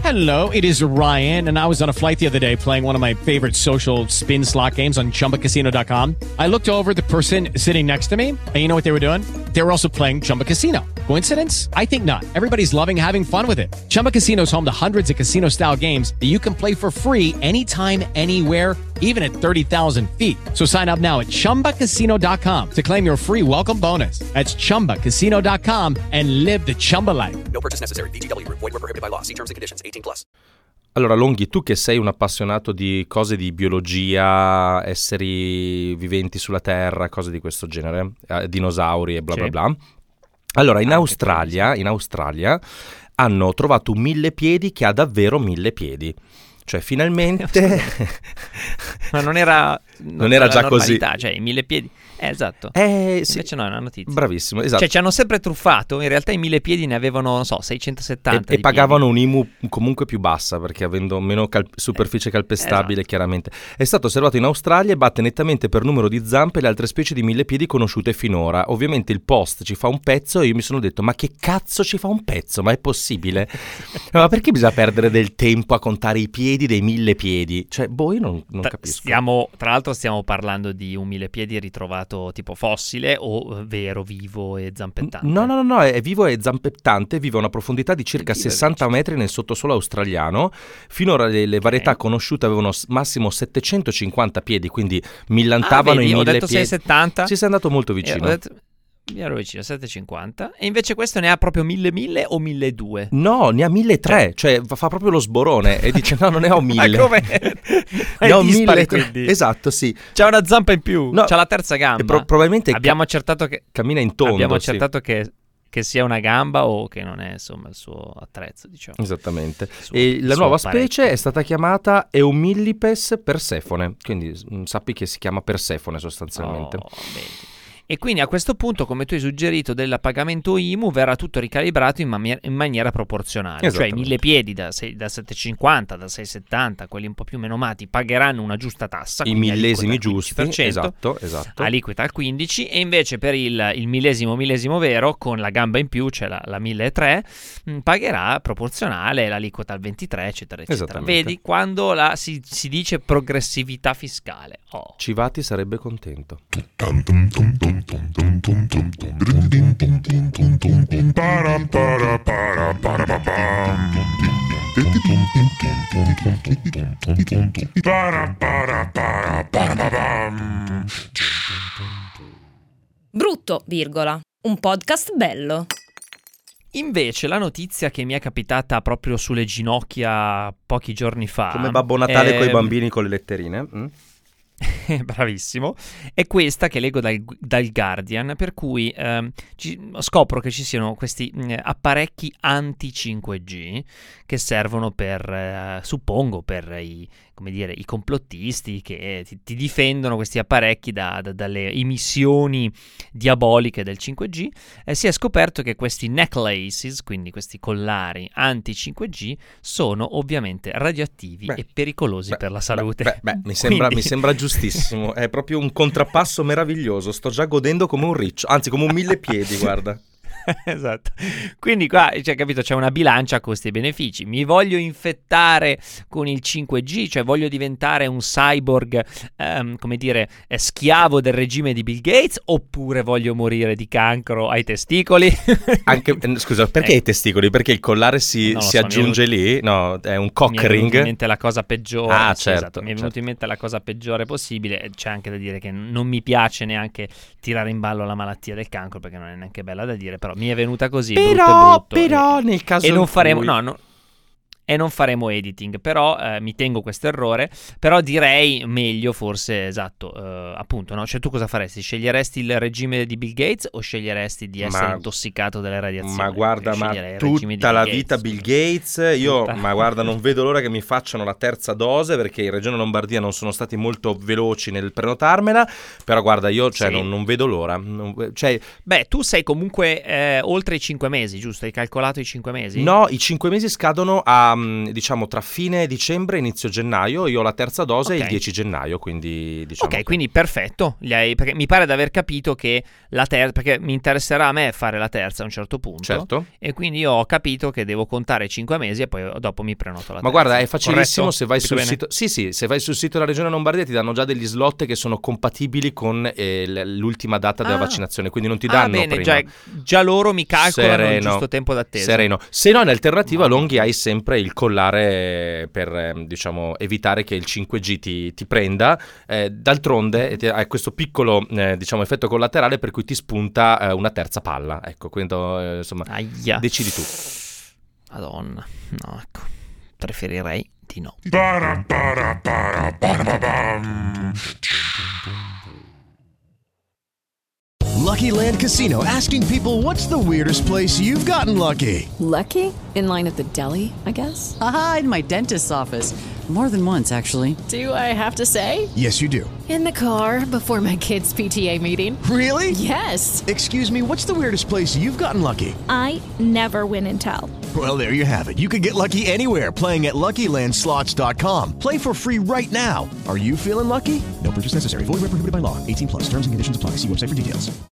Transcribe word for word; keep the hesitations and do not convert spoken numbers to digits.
Hello, it is Ryan, and I was on a flight the other day playing one of my favorite social spin slot games on Chumba Casino dot com. I looked over at the person sitting next to me, and you know what they were doing? They were also playing Chumba Casino. Coincidence? I think not. Everybody's loving having fun with it. Chumba Casino is home to hundreds of casino-style games that you can play for free anytime, anywhere, even at thirty thousand feet. So sign up now at Chumba Casino dot com to claim your free welcome bonus. That's Chumba Casino dot com and live the Chumba life. No purchase necessary. V G W. Void where prohibited by law. See terms and conditions. eighteen plus. Allora, Longhi, tu che sei un appassionato di cose di biologia, esseri viventi sulla Terra, cose di questo genere, eh, dinosauri e bla bla bla. Allora, in Australia, in Australia hanno trovato un millepiedi che ha davvero mille piedi. Cioè, finalmente... Ma non era... Non era già così. Cioè, i mille piedi... Eh, esatto. Eh, sì. Invece no, è una notizia. Bravissimo, esatto. Cioè, ci hanno sempre truffato. In realtà i mille piedi ne avevano, non so, seicentosettanta. E, e pagavano un I M U comunque più bassa, perché avendo meno cal- superficie calpestabile, esatto. Chiaramente. È stato osservato in Australia e batte nettamente per numero di zampe le altre specie di millepiedi conosciute finora. Ovviamente il post ci fa un pezzo e io mi sono detto, ma che cazzo ci fa un pezzo? Ma è possibile? Ma perché bisogna perdere del tempo a contare i piedi dei millepiedi? Cioè, boh, io non, non capisco. Stiamo, tra l'altro stiamo parlando di un millepiedi ritrovato tipo fossile o vero, vivo e zampettante? No, no, no, no, è vivo e zampettante, vive a una profondità di circa sessanta metri nel sottosuolo australiano. Finora le, le varietà okay. conosciute avevano massimo settecentocinquanta piedi, quindi millantavano ah, vedi, i mille ho detto piedi. seicentosettanta. Sì, sei andato molto vicino. Eh, mi ero vicino, settecentocinquanta. E invece questo ne ha proprio mille mille o milleduecento? No, ne ha milletrecento, cioè fa proprio lo sborone e dice no, non ne ho mille. Ma come? Ne ho mille. Quindi. Esatto, sì. C'ha una zampa in più, no, c'ha la terza gamba. E pro- probabilmente abbiamo ca- accertato che cammina in tondo. Abbiamo accertato sì. che che sia una gamba o che non è insomma il suo attrezzo, diciamo. Esattamente. Suo, e la nuova specie è stata chiamata Eumillipes persefone, quindi mh, sappi che si chiama Persefone sostanzialmente. Oh, bene. E quindi a questo punto, come tu hai suggerito, del pagamento I M U verrà tutto ricalibrato in, man- in maniera proporzionale. Cioè i mille piedi da, sei, da settecentocinquanta, da seicentosettanta, quelli un po' più menomati, pagheranno una giusta tassa. I millesimi giusti, esatto, esatto. Aliquota al quindici per cento, e invece per il, il millesimo millesimo vero, con la gamba in più, cioè la, la milletrecento, mh, pagherà proporzionale l'aliquota al ventitré, eccetera, eccetera. Vedi, quando la, si, si dice progressività fiscale. Oh. Civati sarebbe contento. Brutto, virgola. Un podcast bello. Invece la notizia che mi è capitata proprio sulle ginocchia pochi giorni fa, come Babbo Natale è... con i bambini con le letterine. Mm? Bravissimo, è questa che leggo dal, dal Guardian, per cui ehm, ci, scopro che ci siano questi mh, apparecchi anti cinque G che servono per, eh, suppongo, per i, come dire, i complottisti che ti, ti difendono questi apparecchi da, da, dalle emissioni diaboliche del cinque G. Eh, si è scoperto che questi necklaces, quindi questi collari anti cinque G, sono ovviamente radioattivi beh, e pericolosi beh, per la salute. Beh, beh, beh mi, sembra, quindi... mi sembra giustissimo, è proprio un contrappasso meraviglioso, sto già godendo come un riccio, anzi come un mille piedi, guarda. Esatto, quindi qua cioè, capito, c'è una bilancia costi e benefici. Mi voglio infettare con il cinque G, cioè voglio diventare un cyborg ehm, come dire schiavo del regime di Bill Gates, oppure voglio morire di cancro ai testicoli? Anche, scusa, perché eh. ai testicoli? Perché il collare si, si so, aggiunge venuto, lì? No, è un cock ring. Mi è venuta in mente la cosa peggiore. Ah, sì, certo, esatto. Mi è venuta certo. in mente la cosa peggiore possibile. C'è anche da dire che non mi piace neanche tirare in ballo la malattia del cancro, perché non è neanche bella da dire, però mi è venuta così, però, brutto e brutto, però e, nel caso e non in faremo cui... no, no e non faremo editing, però eh, mi tengo questo errore, però direi meglio forse, esatto, eh, appunto, no? Cioè tu cosa faresti? Sceglieresti il regime di Bill Gates o sceglieresti di essere ma, intossicato dalle radiazioni? Ma guarda, ma tutta la Gates. vita Bill Gates, io, tutta. ma guarda, non vedo l'ora che mi facciano la terza dose, perché in Regione Lombardia non sono stati molto veloci nel prenotarmela, però guarda, io cioè, sì. non, non vedo l'ora. Non, cioè... Beh, tu sei comunque eh, oltre i cinque mesi, giusto? Hai calcolato i cinque mesi? No, i cinque mesi scadono a a, diciamo, tra fine dicembre e inizio gennaio. Io ho la terza dose Okay. il dieci gennaio, quindi diciamo Ok, che- quindi perfetto. Li hai- perché mi pare di aver capito che la terza, perché mi interesserà a me fare la terza a un certo punto. Certo. E quindi io ho capito che devo contare cinque mesi e poi dopo mi prenoto la terza. Ma guarda, è facilissimo. Corretto? Se vai Capito sul bene? sito, sì, sì, se vai sul sito della Regione Lombardia ti danno già degli slot che sono compatibili con eh, l- l'ultima data della Ah. vaccinazione, quindi non ti Ah, danno bene, prima. già, già loro mi calcolano il Sereno. giusto tempo d'attesa. Sereno. Se no, in alternativa, No. Longhi, hai sempre il collare per ehm, diciamo evitare che il cinque G ti, ti prenda. Eh, d'altronde ti- hai questo piccolo eh, diciamo effetto collaterale per cui ti spunta eh, una terza palla. Ecco, quindi eh, insomma, Aia. decidi tu. Madonna. No, ecco. Preferirei di no. Lucky Land Casino, asking people, what's the weirdest place you've gotten lucky? Lucky? In line at the deli, I guess? Aha, in my dentist's office. More than once, actually. Do I have to say? Yes, you do. In the car before my kids' P T A meeting. Really? Yes. Excuse me, what's the weirdest place you've gotten lucky? I never win and tell. Well, there you have it. You can get lucky anywhere, playing at Lucky Land Slots dot com. Play for free right now. Are you feeling lucky? No purchase necessary. Void where prohibited by law. eighteen plus. Terms and conditions apply. See website for details.